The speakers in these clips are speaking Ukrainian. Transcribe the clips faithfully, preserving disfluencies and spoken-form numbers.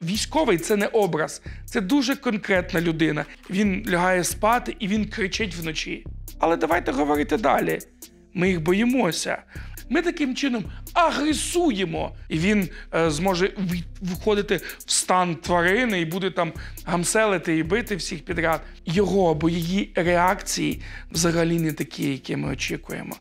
Військовий – це не образ, це дуже конкретна людина. Він лягає спати і він кричить вночі. Але давайте говорити далі. Ми їх боїмося. Ми таким чином агресуємо. І він е, зможе виходити в стан тварини і буде там гамселити і бити всіх підряд. Його або її реакції взагалі не такі, які ми очікуємо.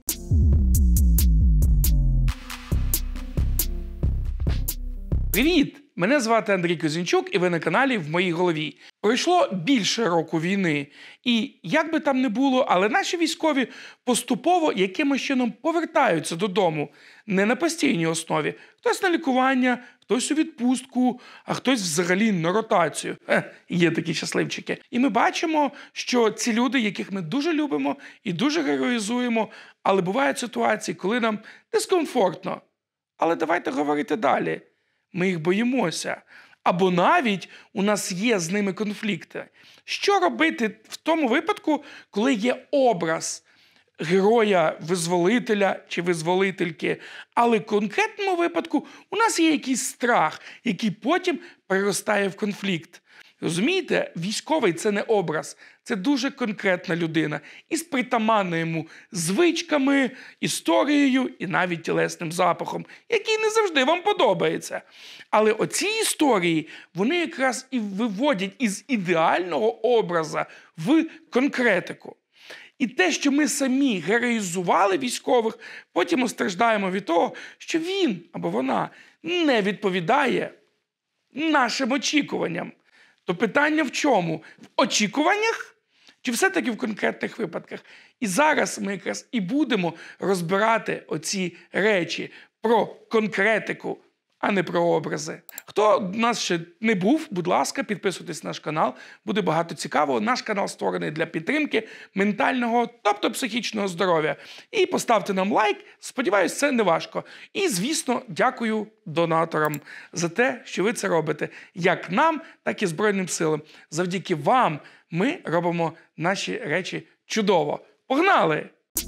Привіт! Мене звати Андрій Козінчук, і ви на каналі «В моїй голові». Пройшло більше року війни. І як би там не було, але наші військові поступово якимось чином повертаються додому. Не на постійній основі. Хтось на лікування, хтось у відпустку, а хтось взагалі на ротацію. Е, є такі щасливчики. І ми бачимо, що ці люди, яких ми дуже любимо і дуже героїзуємо, але бувають ситуації, коли нам дискомфортно. Але давайте говорити далі. Ми їх боїмося. Або навіть у нас є з ними конфлікти. Що робити в тому випадку, коли є образ героя-визволителя чи визволительки, але в конкретному випадку у нас є якийсь страх, який потім переростає в конфлікт. Розумієте, військовий – це не образ, це дуже конкретна людина. Із притаманними йому звичками, історією і навіть тілесним запахом, який не завжди вам подобається. Але оці історії, вони якраз і виводять із ідеального образа в конкретику. І те, що ми самі героїзували військових, потім страждаємо від того, що він або вона не відповідає нашим очікуванням. То питання в чому? В очікуваннях? Чи все-таки в конкретних випадках? І зараз ми якраз і будемо розбирати оці речі про конкретику, а не про образи. Хто в нас ще не був, будь ласка, підписуйтесь на наш канал. Буде багато цікавого. Наш канал створений для підтримки ментального, тобто психічного здоров'я. І поставте нам лайк. Сподіваюсь, це не важко. І, звісно, дякую донаторам за те, що ви це робите. Як нам, так і Збройним силам. Завдяки вам ми робимо наші речі чудово. Погнали!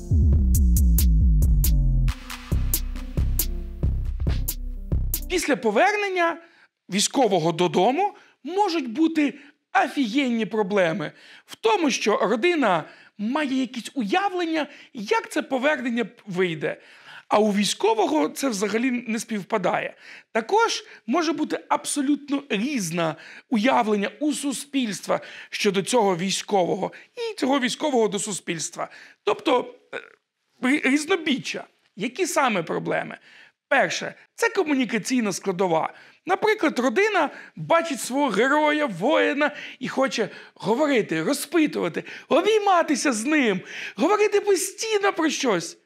Після повернення військового додому можуть бути офігенні проблеми в тому, що родина має якісь уявлення, як це повернення вийде. А у військового це взагалі не співпадає. Також може бути абсолютно різне уявлення у суспільства щодо цього військового і цього військового до суспільства. Тобто різнобіччя. Які саме проблеми? Перше – це комунікаційна складова. Наприклад, родина бачить свого героя, воїна і хоче говорити, розпитувати, обійматися з ним, говорити постійно про щось.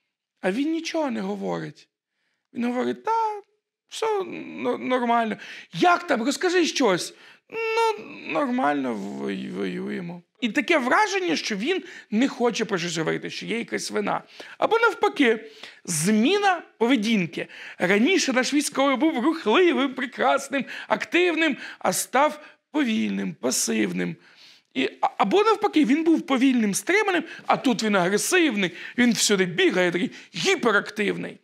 А він нічого не говорить. Він говорить, та, все нормально. Як там? Розкажи щось. Ну, нормально, воюємо. І таке враження, що він не хоче про щось говорити, що є якась вина. Або навпаки, зміна поведінки. Раніше наш військовий був рухливим, прекрасним, активним, а став повільним, пасивним. І, або навпаки, він був повільним, стриманим, а тут він агресивний, він всюди бігає, такий гіперактивний.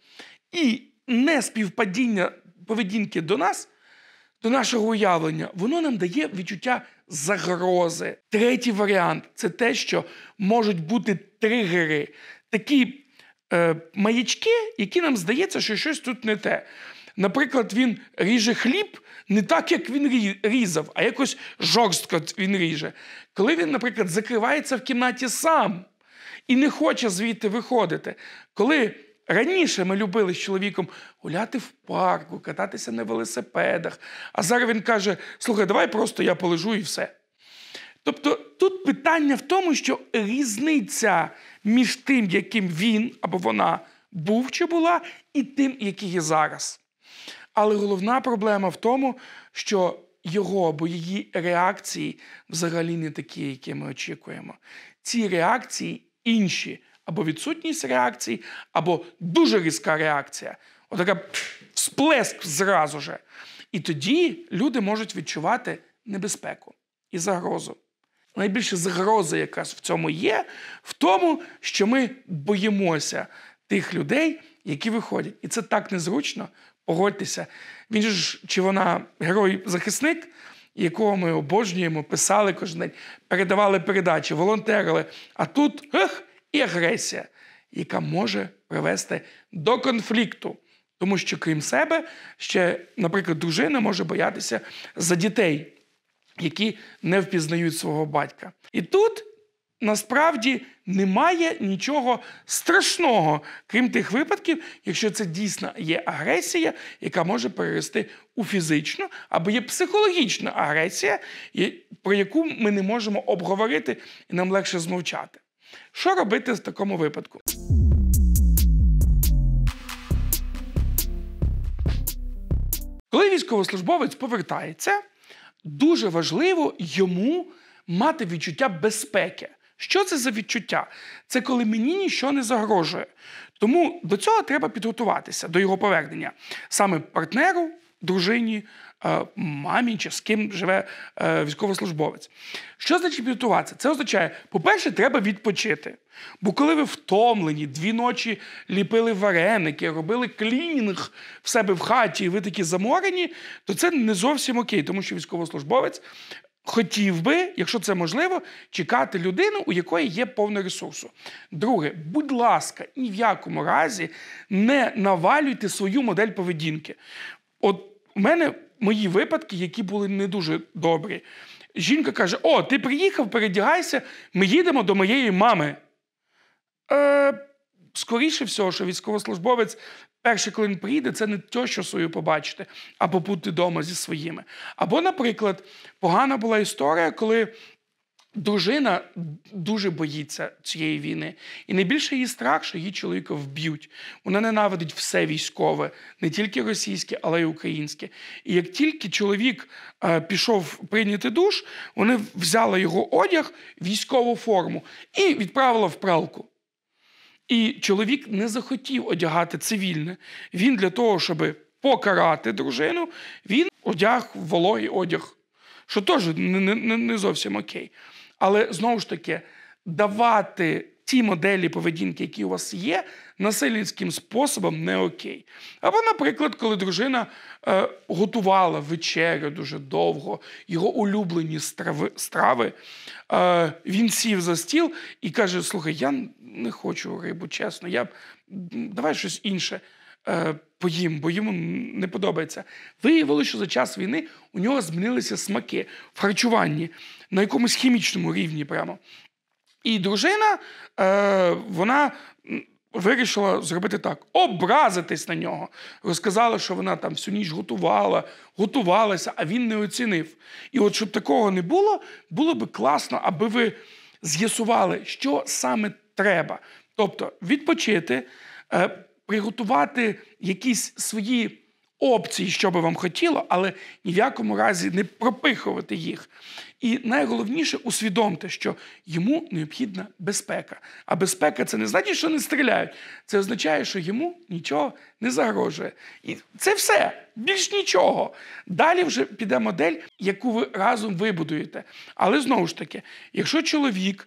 І неспівпадіння поведінки до нас, до нашого уявлення, воно нам дає відчуття загрози. Третій варіант – це те, що можуть бути тригери, такі е, маячки, які нам здається, що щось тут не те. Наприклад, він ріже хліб не так, як він різав, а якось жорстко він ріже. Коли він, наприклад, закривається в кімнаті сам і не хоче звідти виходити. Коли раніше ми любили з чоловіком гуляти в парку, кататися на велосипедах, а зараз він каже, слухай, давай просто я полежу і все. Тобто тут питання в тому, що різниця між тим, яким він або вона був чи була, і тим, який є зараз. Але головна проблема в тому, що його або її реакції взагалі не такі, які ми очікуємо. Ці реакції інші. Або відсутність реакції, або дуже різка реакція. Отака всплеск зразу же. І тоді люди можуть відчувати небезпеку і загрозу. Найбільша загроза якраз в цьому є, в тому, що ми боїмося тих людей, які виходять. І це так незручно, погодьтеся. Він ж, чи вона герой-захисник, якого ми обожнюємо, писали кожен день, передавали передачі, волонтерили. А тут ех, і агресія, яка може привести до конфлікту. Тому що, крім себе, ще, наприклад, дружина може боятися за дітей, які не впізнають свого батька. І тут, насправді, немає нічого страшного, крім тих випадків, якщо це дійсно є агресія, яка може перерости у фізичну, або є психологічна агресія, про яку ми не можемо обговорити і нам легше змовчати. Що робити в такому випадку? Коли військовослужбовець повертається, дуже важливо йому мати відчуття безпеки. Що це за відчуття? Це коли мені нічого не загрожує. Тому до цього треба підготуватися, до його повернення. Саме партнеру, дружині, мамі чи з ким живе військовослужбовець. Що значить підготуватися? Це означає, по-перше, треба відпочити. Бо коли ви втомлені, дві ночі ліпили вареники, робили клінінг в себе в хаті, і ви такі заморені, то це не зовсім окей, тому що військовослужбовець хотів би, якщо це можливо, чекати людину, у якої є повне ресурсу. Друге, будь ласка, ні в якому разі не навалюйте свою модель поведінки. От у мене мої випадки, які були не дуже добрі. Жінка каже: о, ти приїхав, передягайся, ми їдемо до моєї мами. Е, скоріше всього, що військовослужбовець перше, коли він приїде, це не те, що свою побачити, а побути вдома зі своїми. Або, наприклад, погана була історія, коли дружина дуже боїться цієї війни. І найбільше її страх, що її чоловіка вб'ють. Вона ненавидить все військове, не тільки російське, але й українське. І як тільки чоловік е, пішов прийняти душ, вони взяли його одяг, військову форму і відправили в пралку. І чоловік не захотів одягати цивільне. Він для того, щоб покарати дружину, він одяг вологий одяг, що теж не, не, не зовсім окей. Але, знову ж таки, давати ті моделі поведінки, які у вас є, насильницьким способом не окей. Або, наприклад, коли дружина е, готувала вечерю дуже довго, його улюблені страви, страви, е, він сів за стіл і каже: слухай, я не хочу рибу, чесно, я, давай щось інше е, поїм, бо йому не подобається. Виявилося, що за час війни у нього змінилися смаки в харчуванні, на якомусь хімічному рівні прямо. І дружина, е, вона вирішила зробити так, образитись на нього. Розказала, що вона там всю ніч готувала, готувалася, а він не оцінив. І от щоб такого не було, було би класно, аби ви з'ясували, що саме треба. Тобто відпочити, е, приготувати якісь свої опції, що би вам хотіло, але ні в якому разі не пропихувати їх. І найголовніше – усвідомте, що йому необхідна безпека. А безпека – це не значить, що не стріляють. Це означає, що йому нічого не загрожує. І це все. Більш нічого. Далі вже піде модель, яку ви разом вибудуєте. Але знову ж таки, якщо чоловік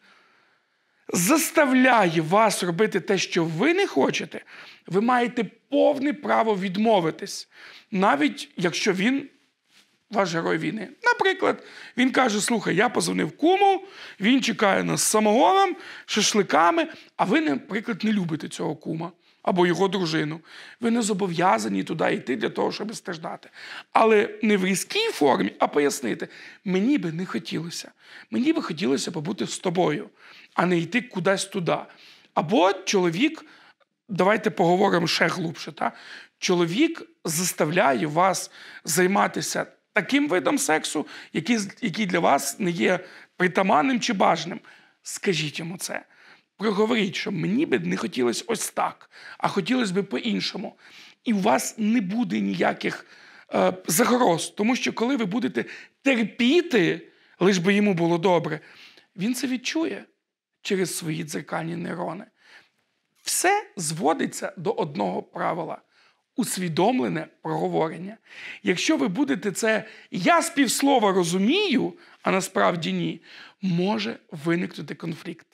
заставляє вас робити те, що ви не хочете, ви маєте повне право відмовитись. Навіть якщо він ваш герой війни. Наприклад, він каже: слухай, я позвонив куму, він чекає нас з самогоном, шашликами, а ви, наприклад, не любите цього кума або його дружину. Ви не зобов'язані туди йти для того, щоб страждати. Але не в різкій формі, а пояснити: мені би не хотілося. Мені би хотілося побути з тобою, а не йти кудись туди. Або чоловік, давайте поговоримо ще глибше, та? Чоловік заставляє вас займатися таким видом сексу, який, який для вас не є притаманним чи бажаним. Скажіть йому це. Проговоріть, що мені би не хотілося ось так, а хотілося б по-іншому. І у вас не буде ніяких е, загроз. Тому що коли ви будете терпіти, лиш би йому було добре, він це відчує через свої дзеркальні нейрони. Все зводиться до одного правила – усвідомлене проговорення. Якщо ви будете це «я з півслова розумію», а насправді ні, може виникнути конфлікт.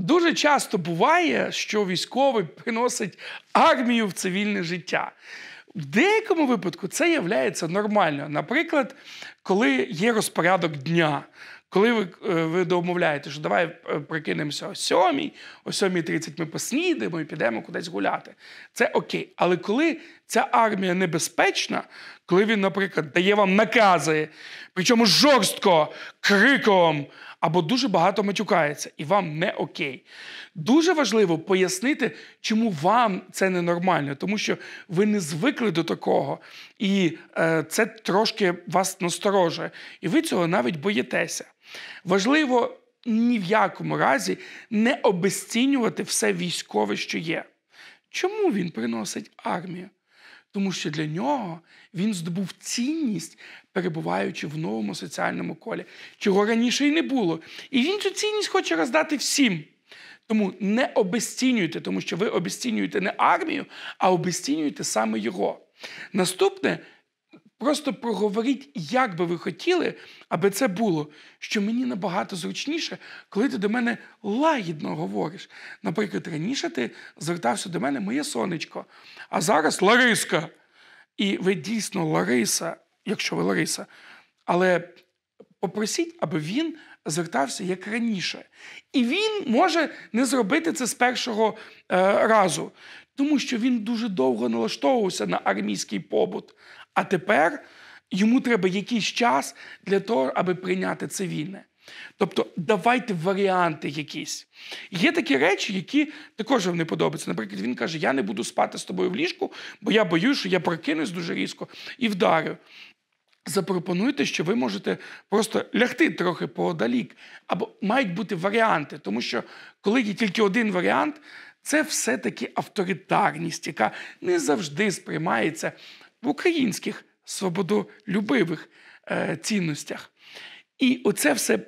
дуже часто буває, що військовий приносить армію в цивільне життя. В деякому випадку це є нормально. Наприклад, коли є розпорядок дня, коли ви, ви домовляєте, що давай прикинемося о сьомій, о сьомій тридцять ми поснідаємо і підемо кудись гуляти. Це окей. Але коли ця армія небезпечна, коли він, наприклад, дає вам накази, причому жорстко, криком, або дуже багато матюкається, і вам не окей. Дуже важливо пояснити, чому вам це ненормально, тому що ви не звикли до такого, і е, це трошки вас насторожує, і ви цього навіть боїтеся. Важливо ні в якому разі не обезцінювати все військове, що є. Чому він приносить армію? Тому що для нього він здобув цінність, перебуваючи в новому соціальному колі, чого раніше й не було. І він цю цінність хоче роздати всім. Тому не обезцінюйте, тому що ви обезцінюєте не армію, а обезцінюєте саме його. Наступне, просто проговоріть, як би ви хотіли, аби це було, що мені набагато зручніше, коли ти до мене лагідно говориш. Наприклад, раніше ти звертався до мене «моє сонечко», а зараз «Лариска». І ви дійсно Лариса, якщо ви Лариса, але попросіть, аби він звертався як раніше. І він може не зробити це з першого е, разу, тому що він дуже довго налаштовувався на армійський побут. А тепер йому треба якийсь час для того, аби прийняти цивільне. Тобто давайте варіанти якісь. Є такі речі, які також вам не подобаються. Наприклад, він каже, я не буду спати з тобою в ліжку, бо я боюсь, що я прокинусь дуже різко і вдарю. Запропонуйте, що ви можете просто лягти трохи поодалік. Або мають бути варіанти, тому що коли є тільки один варіант, це все-таки авторитарність, яка не завжди сприймається в українських свободолюбивих е, цінностях. І оце все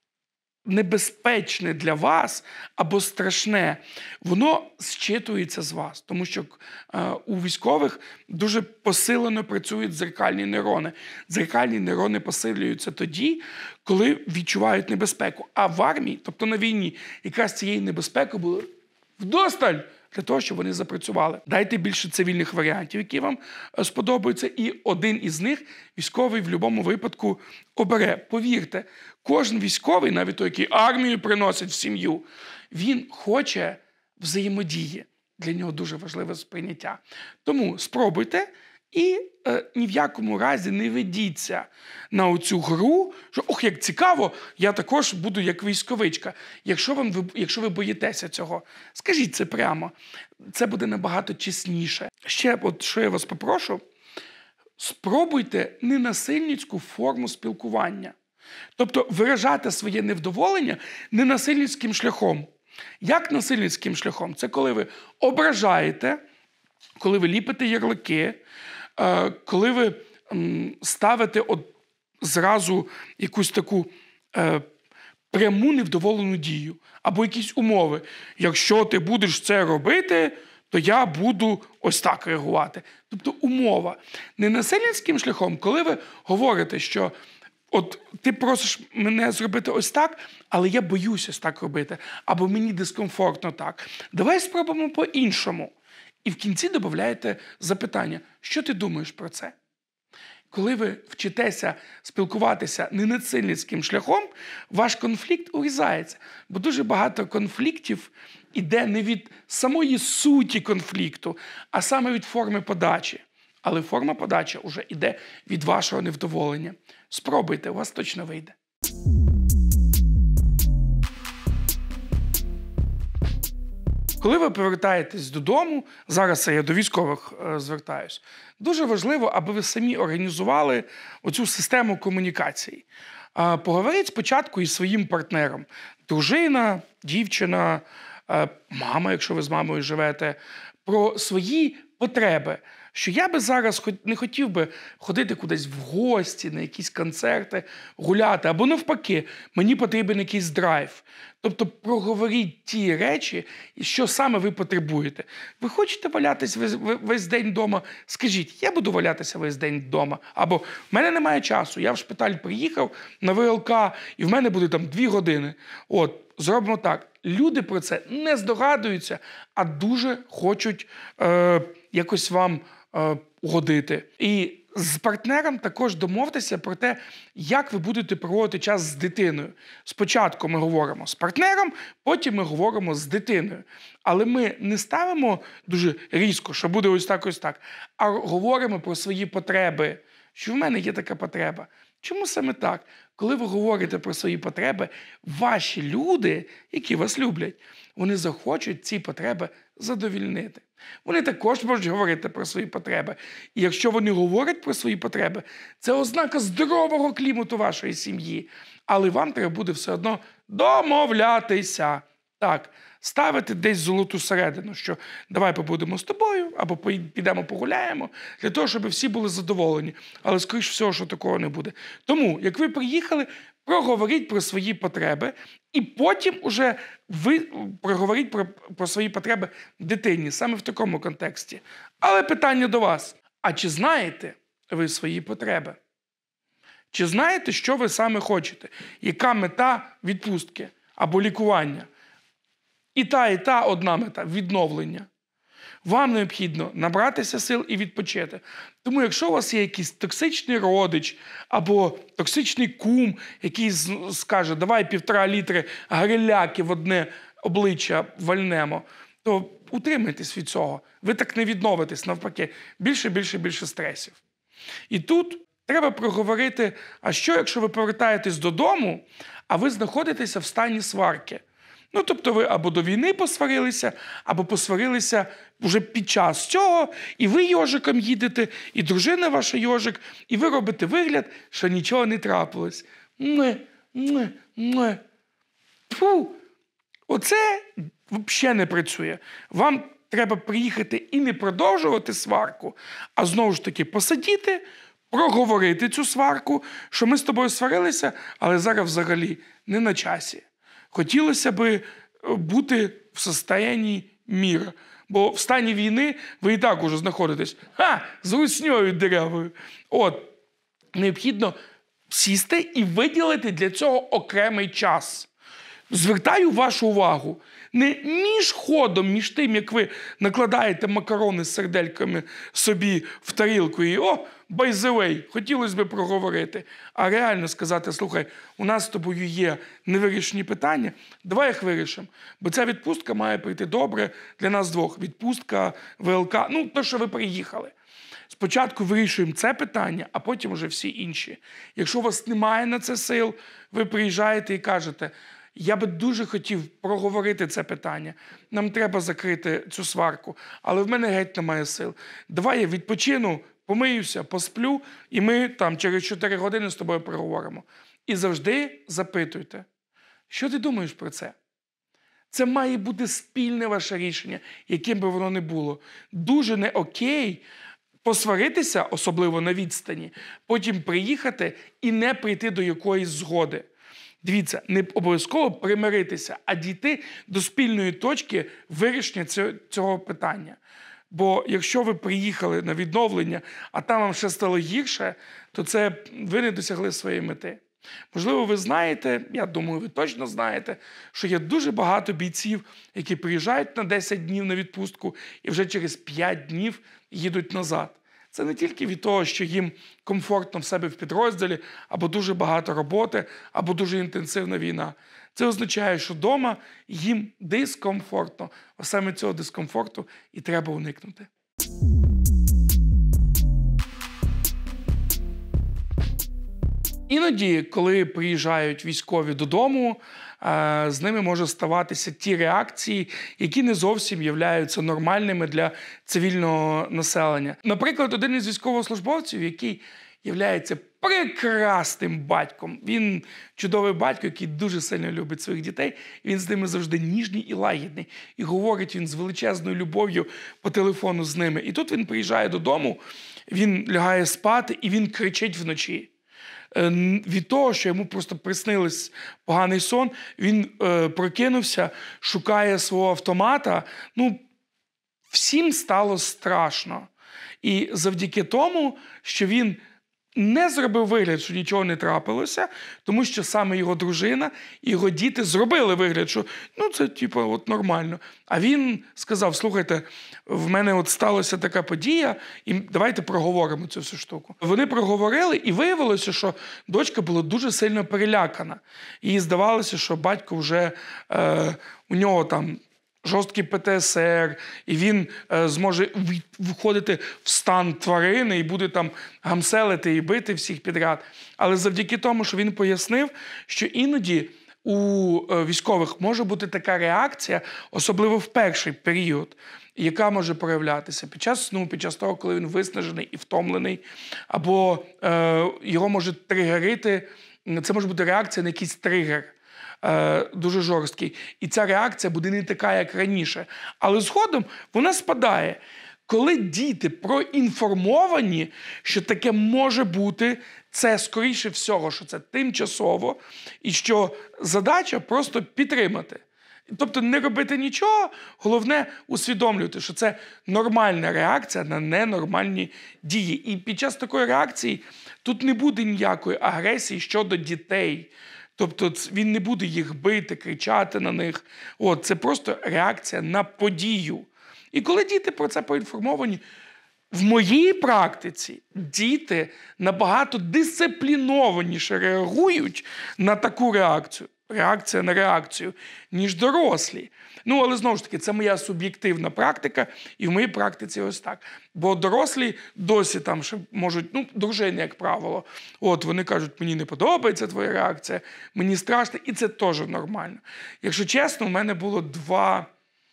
небезпечне для вас або страшне, воно зчитується з вас. Тому що е, у військових дуже посилено працюють дзеркальні нейрони. Дзеркальні нейрони посилюються тоді, коли відчувають небезпеку. А в армії, тобто на війні, якраз цієї небезпеки було вдосталь для того, щоб вони запрацювали. Дайте більше цивільних варіантів, які вам сподобаються, і один із них військовий в будь-якому випадку обере. Повірте, кожен військовий, навіть той, який армію приносить в сім'ю, він хоче взаємодії. Для нього дуже важливе сприйняття. Тому спробуйте і е, ні в якому разі не ведіться на оцю гру, що ох, як цікаво, я також буду як військовичка. Якщо, вам, ви, якщо ви боїтеся цього, скажіть це прямо. Це буде набагато чесніше. Ще, от, що я вас попрошу, спробуйте ненасильницьку форму спілкування. Тобто виражати своє невдоволення ненасильницьким шляхом. Як насильницьким шляхом? Це коли ви ображаєте, коли ви ліпите ярлики, коли ви ставите от зразу якусь таку е, пряму невдоволену дію або якісь умови. Якщо ти будеш це робити, то я буду ось так реагувати. Тобто умова. Не насильницьким шляхом, коли ви говорите, що от ти просиш мене зробити ось так, але я боюсь ось так робити, або мені дискомфортно так. Давай спробуємо по-іншому. І в кінці додаєте запитання, що ти думаєш про це? Коли ви вчитеся спілкуватися ненасильницьким шляхом, ваш конфлікт урізається. Бо дуже багато конфліктів іде не від самої суті конфлікту, а саме від форми подачі. Але форма подачі вже йде від вашого невдоволення. Спробуйте, у вас точно вийде. Коли ви повертаєтесь додому, зараз я до військових е, звертаюсь, дуже важливо, аби ви самі організували оцю систему комунікації. Е, поговоріть спочатку із своїм партнером. Дружина, дівчина, е, мама, якщо ви з мамою живете, про свої потреби. Що я би зараз не хотів би ходити кудись в гості, на якісь концерти, гуляти, або навпаки, мені потрібен якийсь драйв. Тобто проговоріть ті речі, що саме ви потребуєте. Ви хочете валятись весь, весь день вдома? Скажіть, я буду валятися весь день вдома. Або в мене немає часу, я в шпиталь приїхав на ВЛК, і в мене буде там дві години. От, зробимо так. Люди про це не здогадуються, а дуже хочуть е, якось вам е, угодити. І з партнером також домовтеся про те, як ви будете проводити час з дитиною. Спочатку ми говоримо з партнером, потім ми говоримо з дитиною. Але ми не ставимо дуже різко, що буде ось так, ось так, а говоримо про свої потреби, що в мене є така потреба. Чому саме так? Коли ви говорите про свої потреби, ваші люди, які вас люблять, вони захочуть ці потреби задовільнити. Вони також можуть говорити про свої потреби. І якщо вони говорять про свої потреби, це ознака здорового клімату вашої сім'ї. Але вам треба буде все одно домовлятися. Так, ставити десь золоту середину, що давай побудемо з тобою, або підемо погуляємо, для того, щоб всі були задоволені. Але, скоріш всього, що такого не буде. Тому, як ви приїхали, проговоріть про свої потреби, і потім уже ви проговоріть про, про свої потреби дитині, саме в такому контексті. Але питання до вас. А чи знаєте ви свої потреби? Чи знаєте, що ви саме хочете? Яка мета відпустки або лікування? І та, і та одна мета – відновлення. Вам необхідно набратися сил і відпочити. Тому якщо у вас є якийсь токсичний родич або токсичний кум, який скаже, давай півтора літри гриляки в одне обличчя вальнемо, то утримайтесь від цього. Ви так не відновитесь, навпаки. Більше, більше, більше стресів. І тут треба проговорити, а що, якщо ви повертаєтесь додому, а ви знаходитеся в стані сварки? Ну, тобто ви або до війни посварилися, або посварилися вже під час цього, і ви йожиком їдете, і дружина ваша йожик, і ви робите вигляд, що нічого не трапилось. Муе, муе, муе. Фу! Оце взагалі не працює. Вам треба приїхати і не продовжувати сварку, а знову ж таки посидіти, проговорити цю сварку, що ми з тобою сварилися, але зараз взагалі не на часі. Хотілося б бути в стані міра. Бо в стані війни ви і так уже знаходитесь. Ха! З русньою деревою. От. Необхідно сісти і виділити для цього окремий час. Звертаю вашу увагу. Не між ходом, між тим, як ви накладаєте макарони з сердельками собі в тарілку і «О, by the way, хотілося б проговорити», а реально сказати, слухай, у нас з тобою є невирішені питання, давай їх вирішимо. Бо ця відпустка має прийти добре для нас двох. Відпустка, ВЛК, ну, то, що ви приїхали. Спочатку вирішуємо це питання, а потім вже всі інші. Якщо у вас немає на це сил, ви приїжджаєте і кажете, я би дуже хотів проговорити це питання. Нам треба закрити цю сварку, але в мене геть немає сил. Давай я відпочину, помиюся, посплю, і ми там через чотири години з тобою проговоримо. І завжди запитуйте, що ти думаєш про це? Це має бути спільне ваше рішення, яким би воно не було. Дуже не окей посваритися, особливо на відстані, потім приїхати і не прийти до якоїсь згоди. Дивіться, не обов'язково примиритися, а дійти до спільної точки вирішення цього питання. Бо якщо ви приїхали на відновлення, а там вам ще стало гірше, то це ви не досягли своєї мети. Можливо, ви знаєте, я думаю, ви точно знаєте, що є дуже багато бійців, які приїжджають на десять днів на відпустку і вже через п'ять днів їдуть назад. Це не тільки від того, що їм комфортно в себе в підрозділі, або дуже багато роботи, або дуже інтенсивна війна. Це означає, що вдома їм дискомфортно. А саме цього дискомфорту і треба уникнути. Іноді, коли приїжджають військові додому, з ними може ставатися ті реакції, які не зовсім являються нормальними для цивільного населення. Наприклад, один із військовослужбовців, який являється прекрасним батьком. Він чудовий батько, який дуже сильно любить своїх дітей. Він з ними завжди ніжний і лагідний. І говорить він з величезною любов'ю по телефону з ними. І тут він приїжджає додому, він лягає спати і він кричить вночі. Від того, що йому просто приснилось поганий сон, він е, прокинувся, шукає свого автомата. Ну, всім стало страшно. І завдяки тому, що він не зробив вигляд, що нічого не трапилося, тому що саме його дружина і його діти зробили вигляд, що ну це типу от нормально. А він сказав: слухайте, в мене от сталася така подія, і давайте проговоримо цю всю штуку. Вони проговорили, і виявилося, що дочка була дуже сильно перелякана. Їй здавалося, що батько вже, е, у нього там жорсткий Пе Те Ес Ер, і він е, зможе виходити в стан тварини і буде там гамселити і бити всіх підряд. Але завдяки тому, що він пояснив, що іноді у е, військових може бути така реакція, особливо в перший період, яка може проявлятися під час сну, під час того, коли він виснажений і втомлений, або е, його може тригерити, це може бути реакція на якийсь тригер. Дуже жорсткий. І ця реакція буде не така, як раніше. Але згодом вона спадає. Коли діти проінформовані, що таке може бути, це, скоріше всього, що це тимчасово, і що задача просто підтримати. Тобто не робити нічого, головне усвідомлювати, що це нормальна реакція на ненормальні дії. І під час такої реакції тут не буде ніякої агресії щодо дітей. Тобто він не буде їх бити, кричати на них. От, це просто реакція на подію. І коли діти про це поінформовані, в моїй практиці діти набагато дисциплінованіше реагують на таку реакцію. Реакція на реакцію, ніж дорослі. Ну, але знову ж таки, це моя суб'єктивна практика, і в моїй практиці ось так. Бо дорослі досі там ще можуть, ну, дружини, як правило, от, вони кажуть: мені не подобається твоя реакція, мені страшно, і це теж нормально. Якщо чесно, у мене було два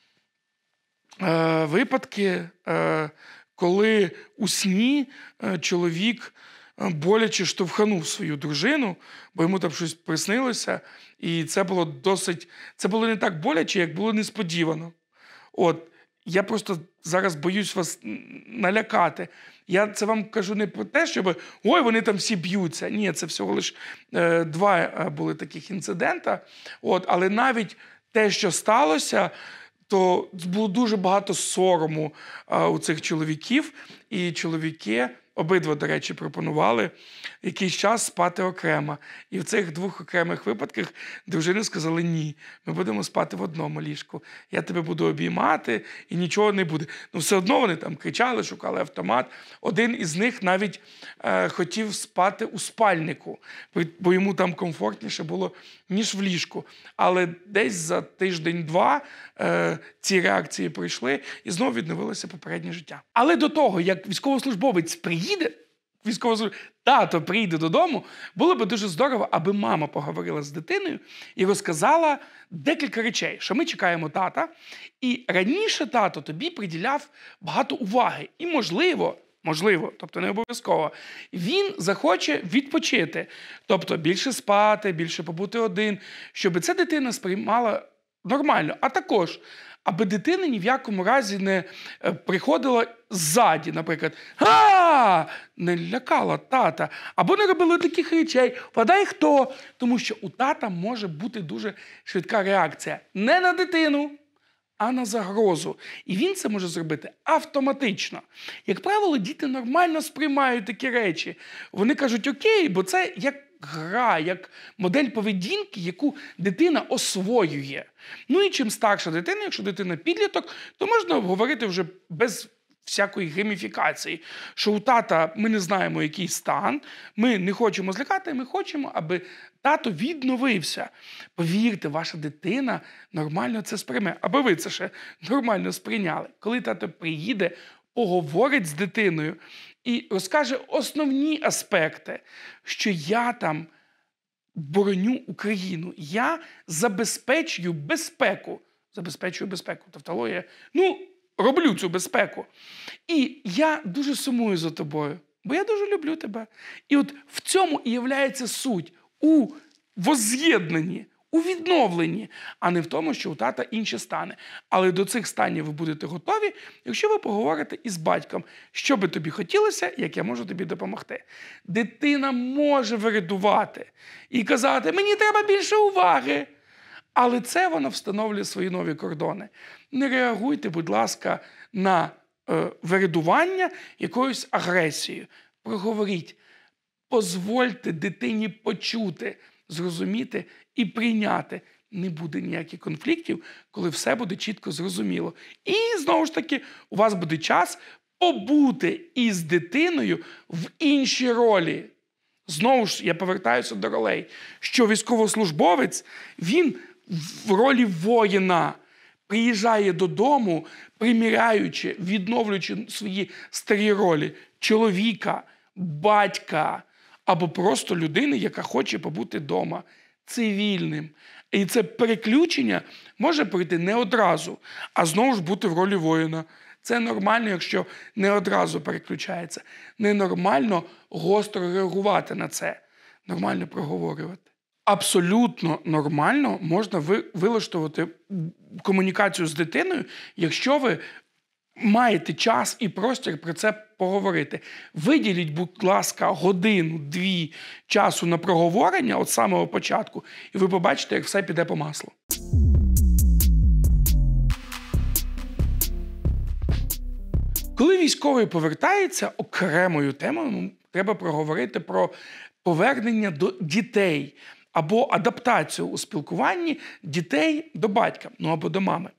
е, випадки, е, коли у сні е, чоловік боляче штовханув свою дружину, бо йому там щось приснилося, і це було досить, це було не так боляче, як було несподівано. От, я просто зараз боюсь вас налякати. Я це вам кажу не про те, щоб, ой, вони там всі б'ються. Ні, це всього лише е, два були таких інцидента. От, але навіть те, що сталося, то було дуже багато сорому е, у цих чоловіків, і чоловіки, обидва, до речі, пропонували якийсь час спати окремо. І в цих двох окремих випадках дружини сказали: ні, ми будемо спати в одному ліжку. Я тебе буду обіймати, і нічого не буде. Ну, все одно вони там кричали, шукали автомат. Один із них навіть е, хотів спати у спальнику, бо йому там комфортніше було, ніж в ліжку. Але десь за тиждень-два е, ці реакції пройшли, і знову відновилося попереднє життя. Але до того, як військовослужбовець приїде, військовослужбовець, тато приїде додому, було б дуже здорово, аби мама поговорила з дитиною і розказала декілька речей, що ми чекаємо тата, і раніше тато тобі приділяв багато уваги. І можливо, можливо, тобто не обов'язково, він захоче відпочити, тобто більше спати, більше побути один, щоб ця дитина сприймала нормально. А також, аби дитина ні в якому разі не приходила ззаді, наприклад, «Га!» не лякала тата, або не робила таких речей, «Вгадай, хто?» Тому що у тата може бути дуже швидка реакція не на дитину, а на загрозу. І він це може зробити автоматично. Як правило, діти нормально сприймають такі речі. Вони кажуть «окей», бо це як гра, як модель поведінки, яку дитина освоює. Ну і чим старша дитина, якщо дитина підліток, то можна говорити вже без всякої гейміфікації, що у тата ми не знаємо, який стан, ми не хочемо злякати, ми хочемо, аби тато відновився. Повірте, ваша дитина нормально це сприйме, аби ви це ще нормально сприйняли. Коли тато приїде, поговорить з дитиною і розкаже основні аспекти, що я там бороню Україну, я забезпечую безпеку. Забезпечую безпеку, тавтологія. Ну, роблю цю безпеку. І я дуже сумую за тобою. бо я дуже люблю тебе. І от в цьому і являється суть у возз'єднанні, у відновленні, а не в тому, що у тата інші стани. Але до цих станів ви будете готові, якщо ви поговорите із батьком, що би тобі хотілося, як я можу тобі допомогти. Дитина може виридувати і казати, мені треба більше уваги. Але це вона встановлює свої нові кордони. Не реагуйте, будь ласка, на е, виридування якоюсь агресією. Проговоріть. Позвольте дитині почути, зрозуміти і прийняти. Не буде ніяких конфліктів, коли все буде чітко зрозуміло. І, знову ж таки, у вас буде час побути із дитиною в іншій ролі. Знову ж, я повертаюся до ролей, що військовослужбовець, він в ролі воїна приїжджає додому, приміряючи, відновлюючи свої старі ролі чоловіка, батька або просто людини, яка хоче побути вдома цивільним. І це переключення може прийти не одразу, а знову ж бути в ролі воїна. Це нормально, якщо не одразу переключається. Ненормально гостро реагувати на це. Нормально проговорювати. Абсолютно нормально можна вилаштувати комунікацію з дитиною, якщо ви маєте час і простір про це поговорити. Виділіть, будь ласка, годину-дві часу на проговорення від самого початку, і ви побачите, як все піде по маслу. Коли військовий повертається, окремою темою треба проговорити про повернення до дітей або адаптацію у спілкуванні дітей до батька, ну або до мами.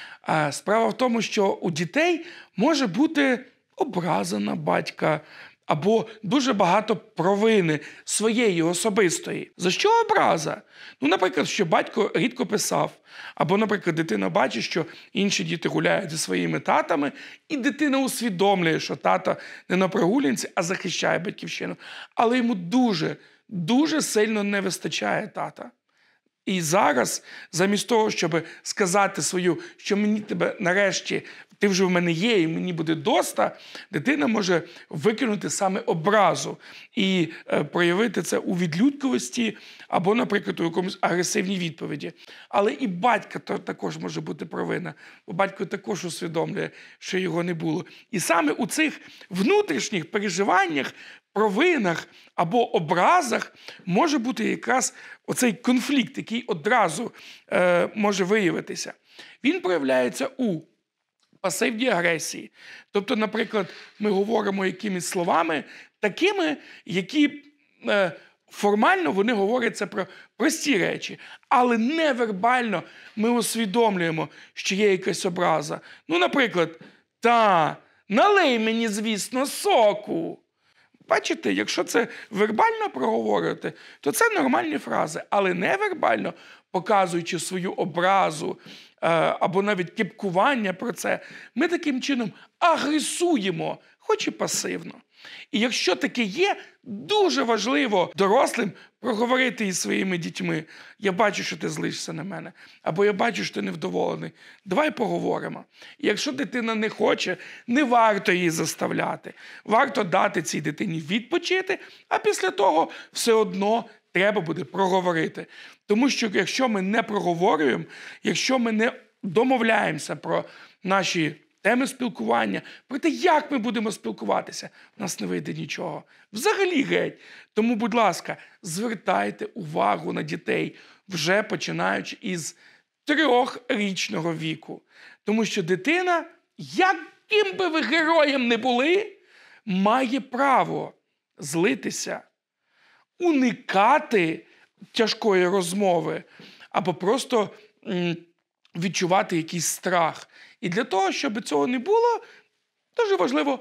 Справа в тому, що у дітей може бути образа на батька або дуже багато провини своєї особистої. За що образа? Ну, наприклад, що батько рідко писав. Або, наприклад, дитина бачить, що інші діти гуляють зі своїми татами, і дитина усвідомлює, що тато не на прогулянці, а захищає батьківщину. Але йому дуже, дуже сильно не вистачає тата. І зараз, замість того, щоб сказати свою, що мені тебе нарешті, ти вже в мене є і мені буде доста, дитина може викинути саме образу і е, проявити це у відлюдковості або, наприклад, у якомусь агресивній відповіді. Але і батька то, також може бути провина, бо батько також усвідомлює, що його не було. І саме у цих внутрішніх переживаннях, провинах або образах може бути якраз оцей конфлікт, який одразу е, може виявитися. Він проявляється у пасивній агресії. Тобто, наприклад, ми говоримо якимись словами такими, які е, формально вони говоряться про прості речі, але невербально ми усвідомлюємо, що є якась образа. Ну, наприклад, та, налий мені, звісно, соку. Бачите, якщо це вербально проговорювати, то це нормальні фрази, але невербально, показуючи свою образу е, або навіть кепкування про це, ми таким чином агресуємо, хоч і пасивно. І якщо таке є, дуже важливо дорослим проговорити із своїми дітьми. Я бачу, що ти злишся на мене. Або я бачу, що ти невдоволений. Давай поговоримо. І якщо дитина не хоче, не варто її заставляти. Варто дати цій дитині відпочити, а після того все одно треба буде проговорити. Тому що якщо ми не проговорюємо, якщо ми не домовляємося про наші теми спілкування, про те, як ми будемо спілкуватися, у нас не вийде нічого. Взагалі геть. Тому, будь ласка, звертайте увагу на дітей, вже починаючи із трьохрічного віку. Тому що дитина, яким би ви героєм не були, має право злитися, уникати тяжкої розмови або просто м, відчувати якийсь страх. І для того, щоб цього не було, дуже важливо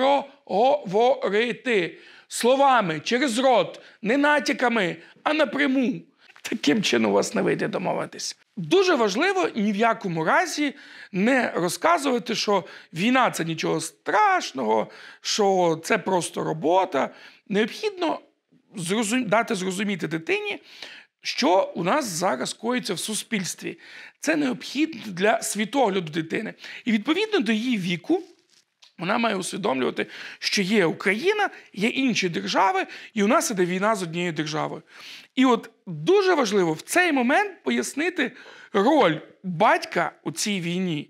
проговорити словами, через рот, не натяками, а напряму. Таким чином у вас не вийде домовитись. Дуже важливо ні в якому разі не розказувати, що війна – це нічого страшного, що це просто робота. Необхідно зрозум... дати зрозуміти дитині, що у нас зараз коїться в суспільстві. Це необхідно для світогляду дитини. І відповідно до її віку Вона має усвідомлювати, що є Україна, є інші держави, і у нас іде війна з однією державою. І от дуже важливо в цей момент пояснити роль батька у цій війні.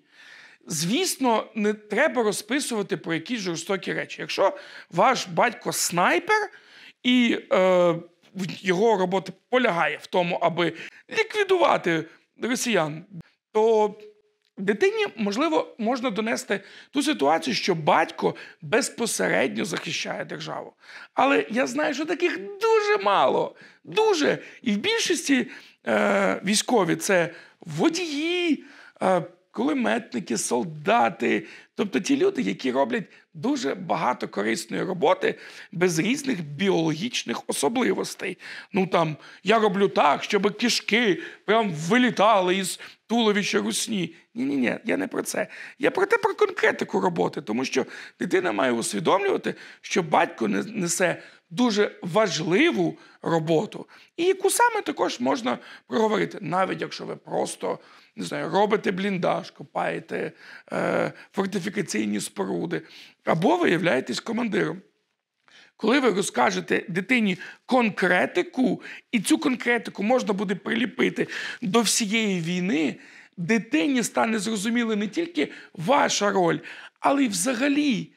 Звісно, не треба розписувати про якісь жорстокі речі. Якщо ваш батько снайпер, і е, його робота полягає в тому, аби ліквідувати росіян, то дитині, можливо, можна донести ту ситуацію, що батько безпосередньо захищає державу. Але я знаю, що таких дуже мало. Дуже. І в більшості е, військові – це водії, е, кулеметники, солдати. Тобто ті люди, які роблять дуже багато корисної роботи без різних біологічних особливостей. Ну там, я роблю так, щоб кишки прям вилітали із туловища русні. Ні-ні-ні, я не про це. Я про те, про конкретику роботи. Тому що дитина має усвідомлювати, що батько несе дуже важливу роботу, і яку саме також можна проговорити, навіть якщо ви просто, не знаю, робите бліндаж, копаєте е, фортифікаційні споруди, або ви являєтесь командиром. Коли ви розкажете дитині конкретику, і цю конкретику можна буде приліпити до всієї війни, дитині стане зрозуміла не тільки ваша роль, але й взагалі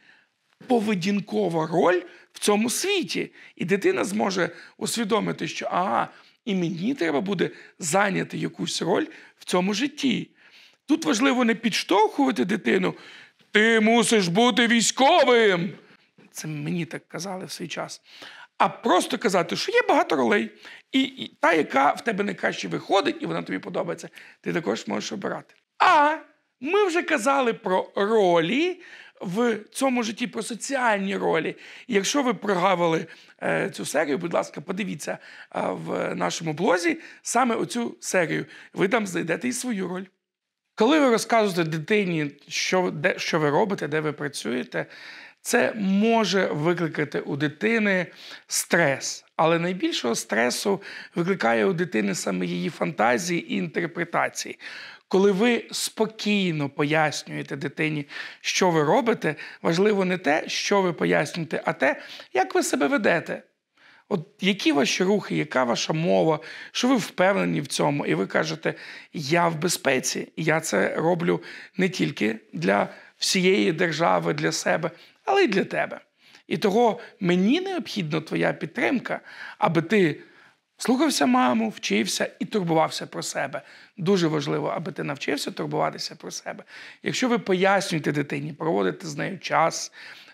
поведінкова роль в цьому світі. І дитина зможе усвідомити, що ага, і мені треба буде зайняти якусь роль в цьому житті. Тут важливо не підштовхувати дитину. Ти мусиш бути військовим. Це мені так казали в свій час. А просто казати, що є багато ролей. І, і та, яка в тебе найкраще виходить, і вона тобі подобається, ти також можеш обирати. А ми вже казали про ролі в цьому житті, про соціальні ролі. І якщо ви прогавили е, цю серію, будь ласка, подивіться е, в нашому блозі саме оцю серію. Ви там знайдете і свою роль. Коли ви розказуєте дитині, що, де, що ви робите, де ви працюєте, це може викликати у дитини стрес. Але найбільшого стресу викликає у дитини саме її фантазії і інтерпретації. Коли ви спокійно пояснюєте дитині, що ви робите, важливо не те, що ви пояснюєте, а те, як ви себе ведете. От які ваші рухи, яка ваша мова, що ви впевнені в цьому. І ви кажете, я в безпеці, я це роблю не тільки для всієї держави, для себе, але й для тебе. І того мені необхідна твоя підтримка, аби ти слухався маму, вчився і турбувався про себе. Дуже важливо, аби ти навчився турбуватися про себе. Якщо ви пояснюєте дитині, проводите з нею час,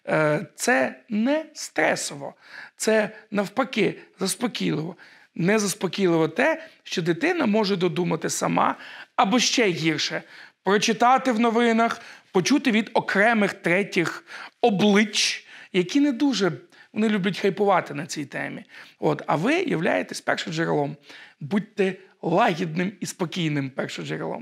це не стресово, це навпаки заспокійливо. Не заспокійливо те, що дитина може додумати сама, або ще гірше – прочитати в новинах, почути від окремих третіх облич, які не дуже, вони люблять хайпувати на цій темі. От, а ви являєтесь першоджерелом. Будьте лагідним і спокійним першоджерелом.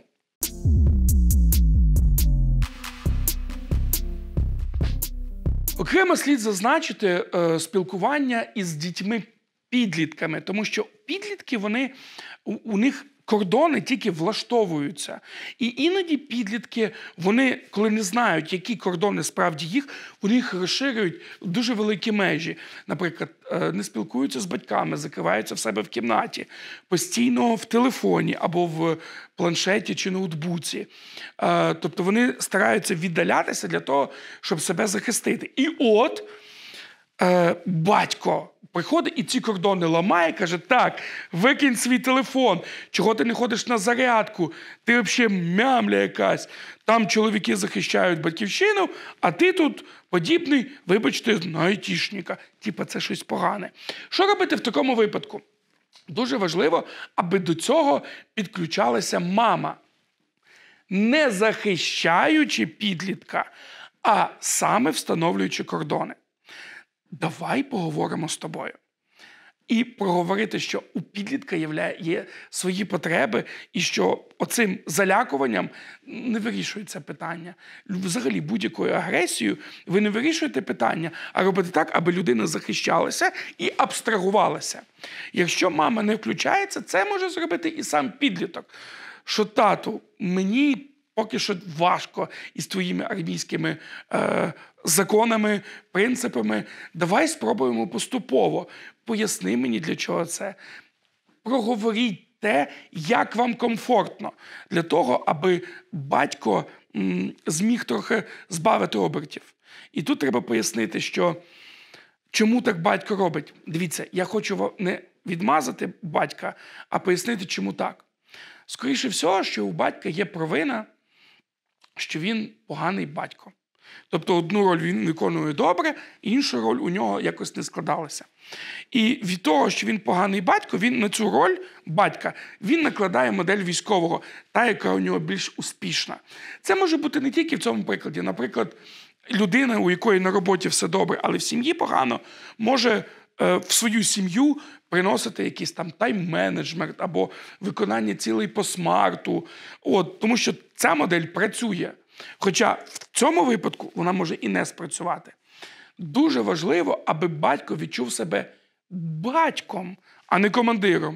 Окремо слід зазначити е, спілкування із дітьми-підлітками, тому що підлітки, вони, у, у них кордони тільки влаштовуються. І іноді підлітки, вони, коли не знають, які кордони справді їх, вони їх розширюють в дуже великі межі. Наприклад, не спілкуються з батьками, закриваються в себе в кімнаті, постійно в телефоні або в планшеті чи ноутбуці. Тобто вони стараються віддалятися для того, щоб себе захистити. І от батько приходить і ці кордони ламає, каже, так, викинь свій телефон, чого ти не ходиш на зарядку, ти взагалі мямля якась, там чоловіки захищають батьківщину, а ти тут подібний, вибачте, на айтішника. Типа це щось погане. Що робити в такому випадку? Дуже важливо, аби до цього підключалася мама. Не захищаючи підлітка, а саме встановлюючи кордони. Давай поговоримо з тобою. І проговорити, що у підлітка є свої потреби, і що оцим залякуванням не вирішується питання. Взагалі, будь-якою агресією ви не вирішуєте питання, а робите так, аби людина захищалася і абстрагувалася. Якщо мама не включається, це може зробити і сам підліток. Що, тату, мені поки що важко із твоїми армійськими е, законами, принципами. Давай спробуємо поступово. Поясни мені, для чого це. Проговоріть те, як вам комфортно. Для того, аби батько м, зміг трохи збавити обертів. І тут треба пояснити, що чому так батько робить. Дивіться, я хочу не відмазати батька, а пояснити, чому так. Скоріше всього, що у батька є провина, що він поганий батько. Тобто одну роль він виконує добре, іншу роль у нього якось не складалася. І від того, що він поганий батько, він на цю роль батька, він накладає модель військового, та, яка у нього більш успішна. Це може бути не тільки в цьому прикладі. Наприклад, людина, у якої на роботі все добре, але в сім'ї погано, може е, в свою сім'ю приносити якийсь там тайм-менеджмент або виконання цілей по смарту. От, тому що ця модель працює. Хоча в цьому випадку вона може і не спрацювати. Дуже важливо, аби батько відчув себе батьком, а не командиром,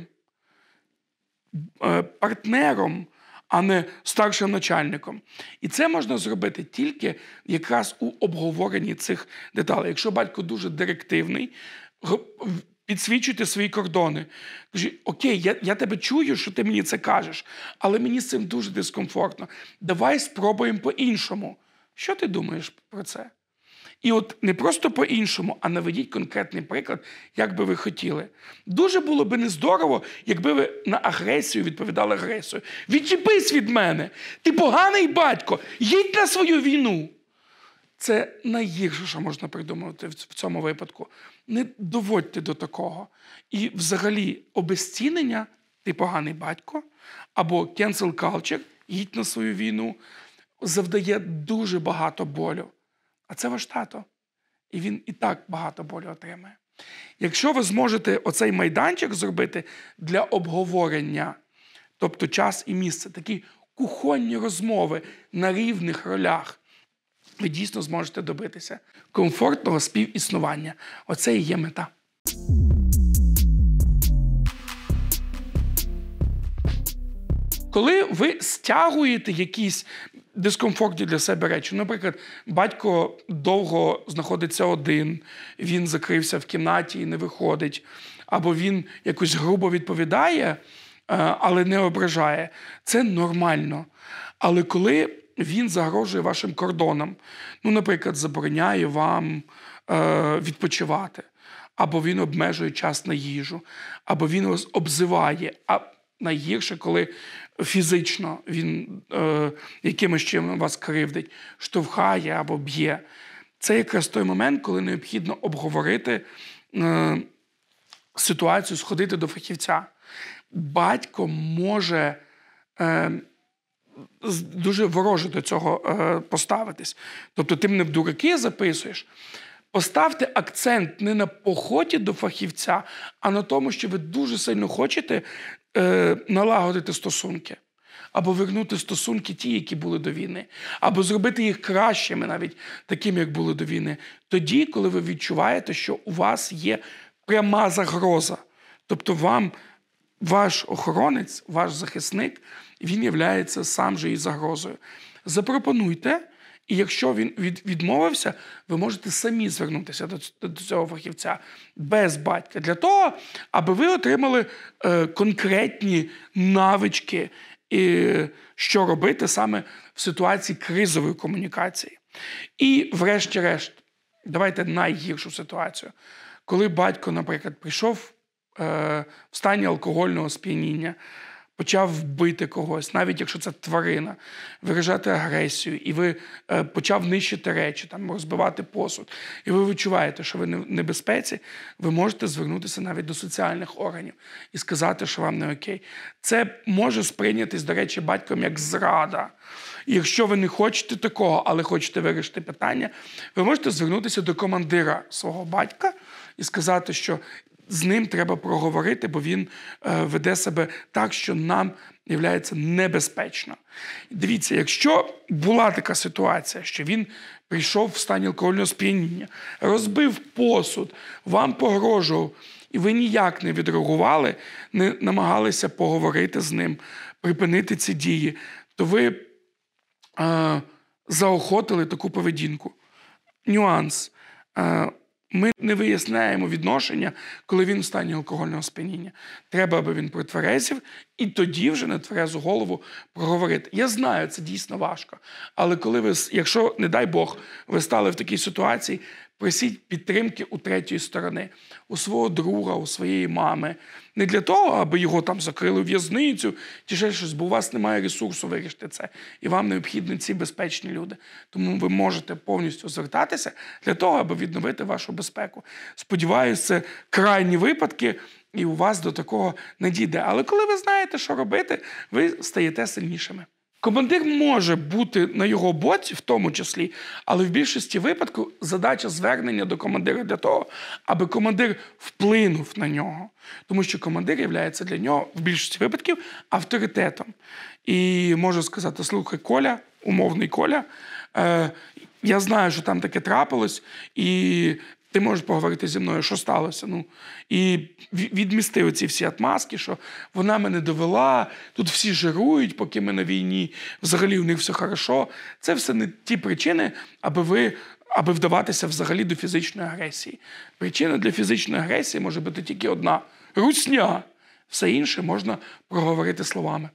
партнером, а не старшим начальником. І це можна зробити тільки якраз у обговоренні цих деталей. Якщо батько дуже директивний, підсвічуйте свої кордони. Кажи, окей, я, я тебе чую, що ти мені це кажеш, але мені з цим дуже дискомфортно. Давай спробуємо по-іншому. Що ти думаєш про це? І от не просто по-іншому, а наведіть конкретний приклад, як би ви хотіли. Дуже було би нездорово, якби ви на агресію відповідали агресією. Відчепись від мене! Ти поганий батько! Їдь на свою війну! Це найгірше, що можна придумати в цьому випадку. Не доводьте до такого. І взагалі обезцінення «ти поганий батько» або «cancel culture» «їдь на свою війну» завдає дуже багато болю. А це ваш тато. І він і так багато болю отримає. Якщо ви зможете оцей майданчик зробити для обговорення, тобто час і місце, такі кухонні розмови на рівних ролях, ви дійсно зможете добитися комфортного співіснування. Оце і є мета. Коли ви стягуєте якісь дискомфортні для себе речі, наприклад, батько довго знаходиться один, він закрився в кімнаті і не виходить, або він якось грубо відповідає, але не ображає, це нормально. Але коли він загрожує вашим кордонам, ну, наприклад, забороняє вам е, відпочивати, або він обмежує час на їжу, або він вас обзиває, а найгірше, коли фізично він е, якимось чином вас кривдить, штовхає або б'є. Це якраз той момент, коли необхідно обговорити е, ситуацію, сходити до фахівця. Батько може е, дуже вороже до цього е, поставитись. Тобто ти мене в дураки записуєш. Поставте акцент не на поході до фахівця, а на тому, що ви дуже сильно хочете е, налагодити стосунки. Або вернути стосунки ті, які були до війни. Або зробити їх кращими, навіть такими, як були до війни. Тоді, коли ви відчуваєте, що у вас є пряма загроза. Тобто вам ваш охоронець, ваш захисник, він являється сам же і загрозою. Запропонуйте, і якщо він від, відмовився, ви можете самі звернутися до, до цього фахівця без батька. Для того, аби ви отримали е, конкретні навички, і що робити саме в ситуації кризової комунікації. І врешті-решт, давайте найгіршу ситуацію. Коли батько, наприклад, прийшов е, в стані алкогольного сп'яніння, почав бити когось, навіть якщо це тварина, виражати агресію, і ви е, почав нищити речі, там, розбивати посуд, і ви відчуваєте, що ви в небезпеці, ви можете звернутися навіть до соціальних органів і сказати, що вам не окей. Це може сприйнятись, до речі, батьком як зрада. І якщо ви не хочете такого, але хочете вирішити питання, ви можете звернутися до командира свого батька і сказати, що з ним треба проговорити, бо він е, веде себе так, що нам є небезпечно. Дивіться, якщо була така ситуація, що він прийшов в стані алкогольного сп'яніння, розбив посуд, вам погрожував, і ви ніяк не відреагували, не намагалися поговорити з ним, припинити ці дії, то ви е, заохотили таку поведінку. нюанс. Е, Ми не виясняємо відношення, коли він в стані алкогольного сп'яніння. Треба, аби він протверезів, і тоді вже на тверезу голову проговорити. Я знаю, це дійсно важко. Але коли ви, якщо, не дай Бог, ви стали в такій ситуації, просіть підтримки у третьої сторони, у свого друга, у своєї мами. Не для того, аби його там закрили в в'язницю, чи ще щось, бо у вас немає ресурсу вирішити це. І вам необхідні ці безпечні люди. Тому ви можете повністю звертатися для того, аби відновити вашу безпеку. Сподіваюся, це крайні випадки, і у вас до такого не дійде. Але коли ви знаєте, що робити, ви стаєте сильнішими. Командир може бути на його боці, в тому числі, але в більшості випадків задача звернення до командира для того, аби командир вплинув на нього. Тому що командир є для нього в більшості випадків авторитетом. І можу сказати: слухай, Коля, умовний Коля, е, я знаю, що там таке трапилось, і ти можеш поговорити зі мною, що сталося. Ну, і відмісти оці всі отмазки, що вона мене довела, тут всі жирують, поки ми на війні, взагалі у них все хорошо. Це все не ті причини, аби ви, аби вдаватися взагалі до фізичної агресії. Причина для фізичної агресії може бути тільки одна – русня. Все інше можна проговорити словами.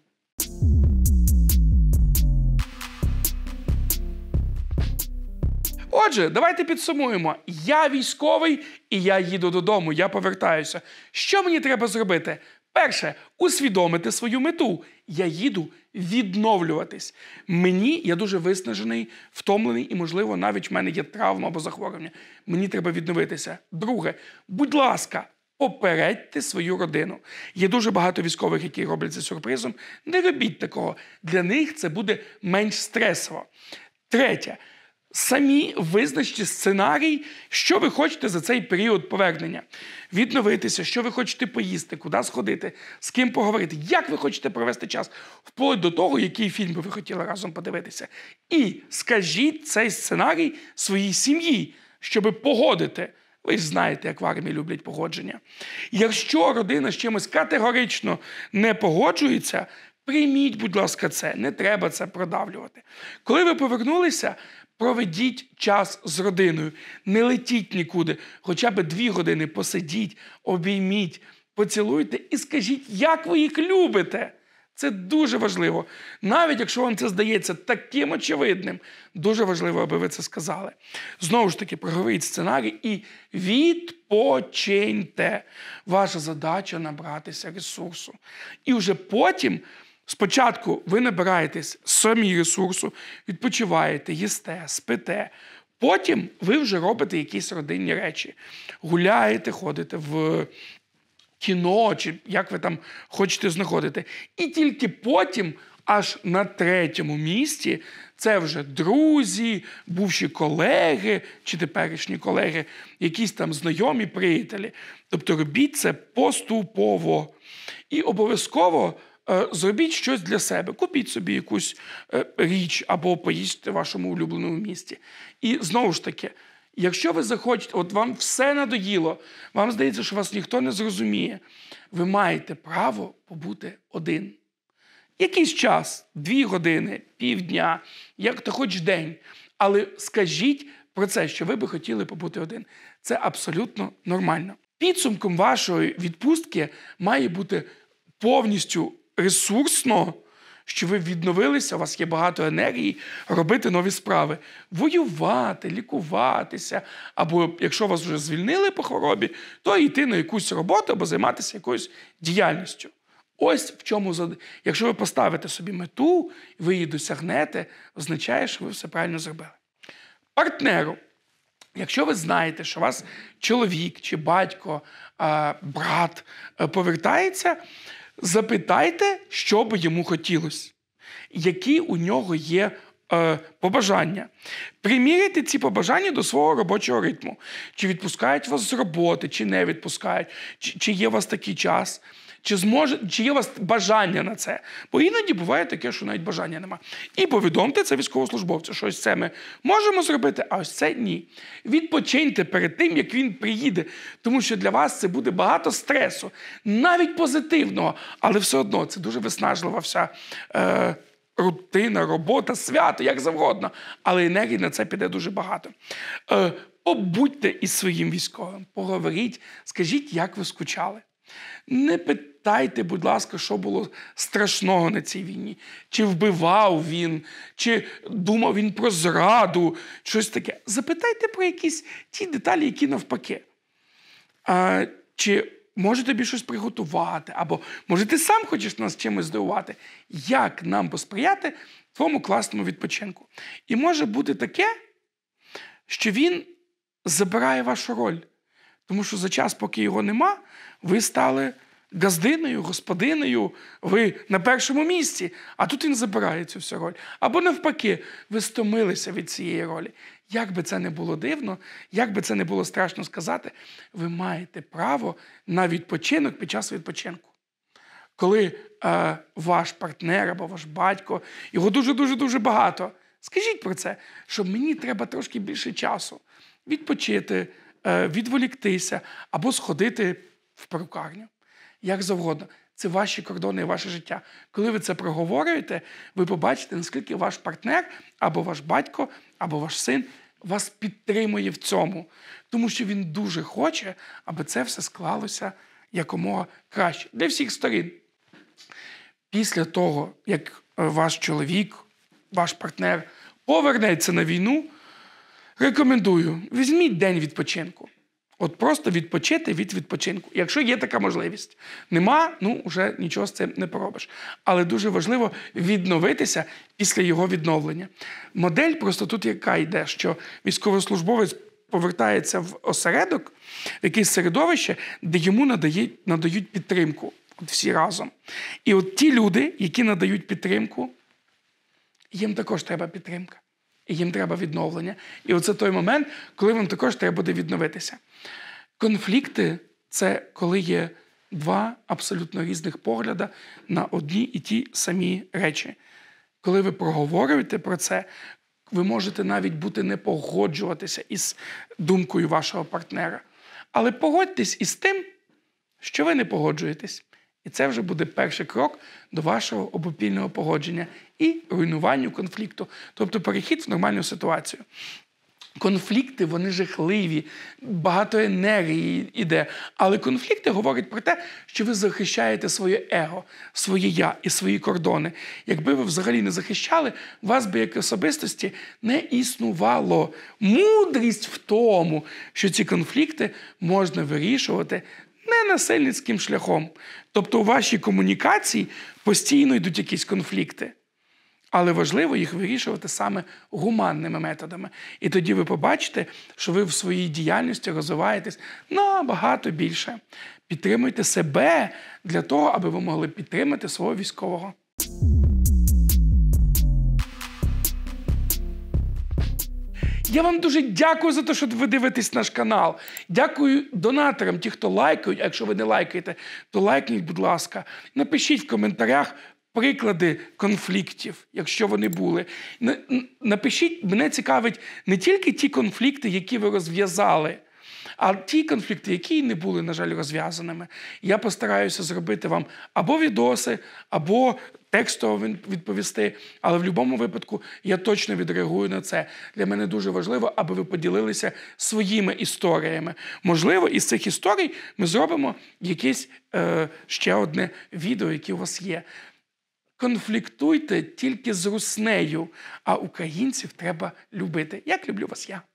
Отже, давайте підсумуємо. Я військовий, і я їду додому, я повертаюся. Що мені треба зробити? Перше, усвідомити свою мету. Я їду відновлюватись. Мені, я дуже виснажений, втомлений, і, можливо, навіть в мене є травма або захворювання. Мені треба відновитися. Друге, будь ласка, попередьте свою родину. Є дуже багато військових, які роблять це сюрпризом. Не робіть такого. Для них це буде менш стресово. Третє. Самі визначте сценарій, що ви хочете за цей період повернення. Відновитися, що ви хочете поїсти, куди сходити, з ким поговорити, як ви хочете провести час, вплоть до того, який фільм би ви хотіли разом подивитися. І скажіть цей сценарій своїй сім'ї, щоб погодити. Ви ж знаєте, як в армії люблять погодження. Якщо родина з чимось категорично не погоджується, прийміть, будь ласка, це. Не треба це продавлювати. Коли ви повернулися, проведіть час з родиною. Не летіть нікуди. Хоча б дві години посидіть, обійміть, поцілуйте і скажіть, як ви їх любите. Це дуже важливо. Навіть якщо вам це здається таким очевидним, дуже важливо, аби ви це сказали. Знову ж таки, проговоріть сценарій і відпочиньте. Ваша задача – набратися ресурсу. І вже потім, спочатку ви набираєтесь самі ресурсу, відпочиваєте, їсте, спите. Потім ви вже робите якісь родинні речі. Гуляєте, ходите в кіно, чи як ви там хочете знаходити. І тільки потім, аж на третьому місці, це вже друзі, бувші колеги, чи теперішні колеги, якісь там знайомі, приятелі. Тобто робіть це поступово. І обов'язково е, зробіть щось для себе. Купіть собі якусь е, річ або поїсти в вашому улюбленому місці. І знову ж таки, якщо ви захочете, от вам все надоїло, вам здається, що вас ніхто не зрозуміє, ви маєте право побути один. Якийсь час, дві години, півдня, як то хоч день. Але скажіть про це, що ви би хотіли побути один. Це абсолютно нормально. Підсумком вашої відпустки має бути повністю ресурсно, що ви відновилися, у вас є багато енергії, робити нові справи. Воювати, лікуватися, або якщо вас вже звільнили по хворобі, то йти на якусь роботу або займатися якоюсь діяльністю. Ось в чому, якщо ви поставите собі мету, ви її досягнете, означає, що ви все правильно зробили. Партнеру. Якщо ви знаєте, що у вас чоловік чи батько, брат повертається, запитайте, що би йому хотілося, які у нього є е, побажання. Приміряйте ці побажання до свого робочого ритму. Чи відпускають вас з роботи, чи не відпускають, чи, чи є у вас такий час, чи, зможе, чи є у вас бажання на це. Бо іноді буває таке, що навіть бажання нема. І повідомте це військовослужбовцю, що ось це ми можемо зробити, а ось це ні. Відпочиньте перед тим, як він приїде, тому що для вас це буде багато стресу, навіть позитивного, але все одно це дуже виснажлива вся е, рутина, робота, свято, як завгодно. Але енергії на це піде дуже багато. Е, побудьте із своїм військовим, поговоріть, скажіть, як ви скучали. Не питайте, будь ласка, що було страшного на цій війні. Чи вбивав він, чи думав він про зраду, щось таке. Запитайте про якісь ті деталі, які навпаки. А, чи може тобі щось приготувати, або може ти сам хочеш нас чимось здивувати. Як нам посприяти твоєму класному відпочинку? І може бути таке, що він забирає вашу роль. Тому що за час, поки його нема, ви стали газдиною, господинею, ви на першому місці, а тут він забирає цю всю роль. Або навпаки, ви стомилися від цієї ролі. Як би це не було дивно, як би це не було страшно сказати, ви маєте право на відпочинок під час відпочинку. Коли е, ваш партнер або ваш батько, його дуже-дуже-дуже багато, скажіть про це, що мені треба трошки більше часу відпочити, е, відволіктися або сходити в перукарню. Як завгодно. Це ваші кордони і ваше життя. Коли ви це проговорюєте, ви побачите, наскільки ваш партнер, або ваш батько, або ваш син вас підтримує в цьому. Тому що він дуже хоче, аби це все склалося якомога краще. Для всіх сторін. Після того, як ваш чоловік, ваш партнер повернеться на війну, рекомендую, візьміть день відпочинку. От просто відпочити від відпочинку. Якщо є така можливість. Нема, ну, вже нічого з цим не поробиш. Але дуже важливо відновитися після його відновлення. Модель просто тут яка йде, що військовослужбовець повертається в осередок, в якесь середовище, де йому надають, надають підтримку. От всі разом. І от ті люди, які надають підтримку, їм також треба підтримка. І їм треба відновлення. І оце той момент, коли вам також треба буде відновитися. Конфлікти – це коли є два абсолютно різних погляди на одні і ті самі речі. Коли ви проговорюєте про це, ви можете навіть бути не погоджуватися із думкою вашого партнера. Але погодьтесь із тим, що ви не погоджуєтесь. І це вже буде перший крок до вашого обопільного погодження і руйнуванню конфлікту. Тобто перехід в нормальну ситуацію. Конфлікти, вони жахливі, багато енергії йде. Але конфлікти говорять про те, що ви захищаєте своє его, своє я і свої кордони. Якби ви взагалі не захищали, вас би як особистості не існувало. Мудрість в тому, що ці конфлікти можна вирішувати не насильницьким шляхом. Тобто у вашій комунікації постійно йдуть якісь конфлікти. Але важливо їх вирішувати саме гуманними методами. І тоді ви побачите, що ви в своїй діяльності розвиваєтесь набагато більше. Підтримуйте себе для того, аби ви могли підтримати свого військового. Я вам дуже дякую за те, що ви дивитесь наш канал. Дякую донаторам, ті, хто лайкають. А якщо ви не лайкаєте, то лайкніть, будь ласка. Напишіть в коментарях приклади конфліктів, якщо вони були. Напишіть, мене цікавить не тільки ті конфлікти, які ви розв'язали, а ті конфлікти, які не були, на жаль, розв'язаними. Я постараюся зробити вам або відоси, або текстово відповісти, але в будь-якому випадку я точно відреагую на це. Для мене дуже важливо, аби ви поділилися своїми історіями. Можливо, із цих історій ми зробимо якесь е, ще одне відео, яке у вас є. Конфліктуйте тільки з руснею, а українців треба любити. Як люблю вас я.